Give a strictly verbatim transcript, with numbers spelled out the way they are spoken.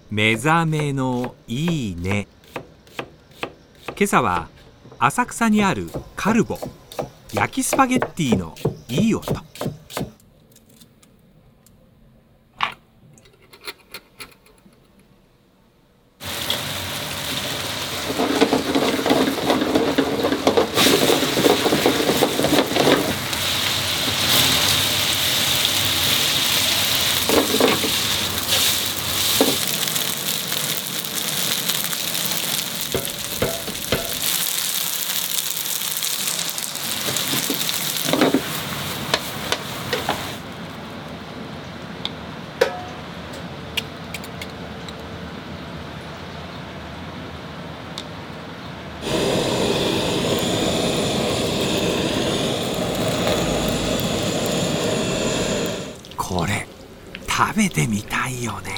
目覚めのいいね。今朝は浅草にあるカルボ焼きスパゲッティのいい音。これ食べてみたいよね。